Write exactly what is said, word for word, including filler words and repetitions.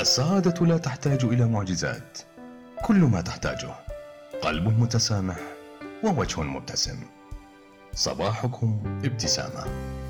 السعادة لا تحتاج إلى معجزات، كل ما تحتاجه قلب متسامح ووجه مبتسم. صباحكم ابتسامة.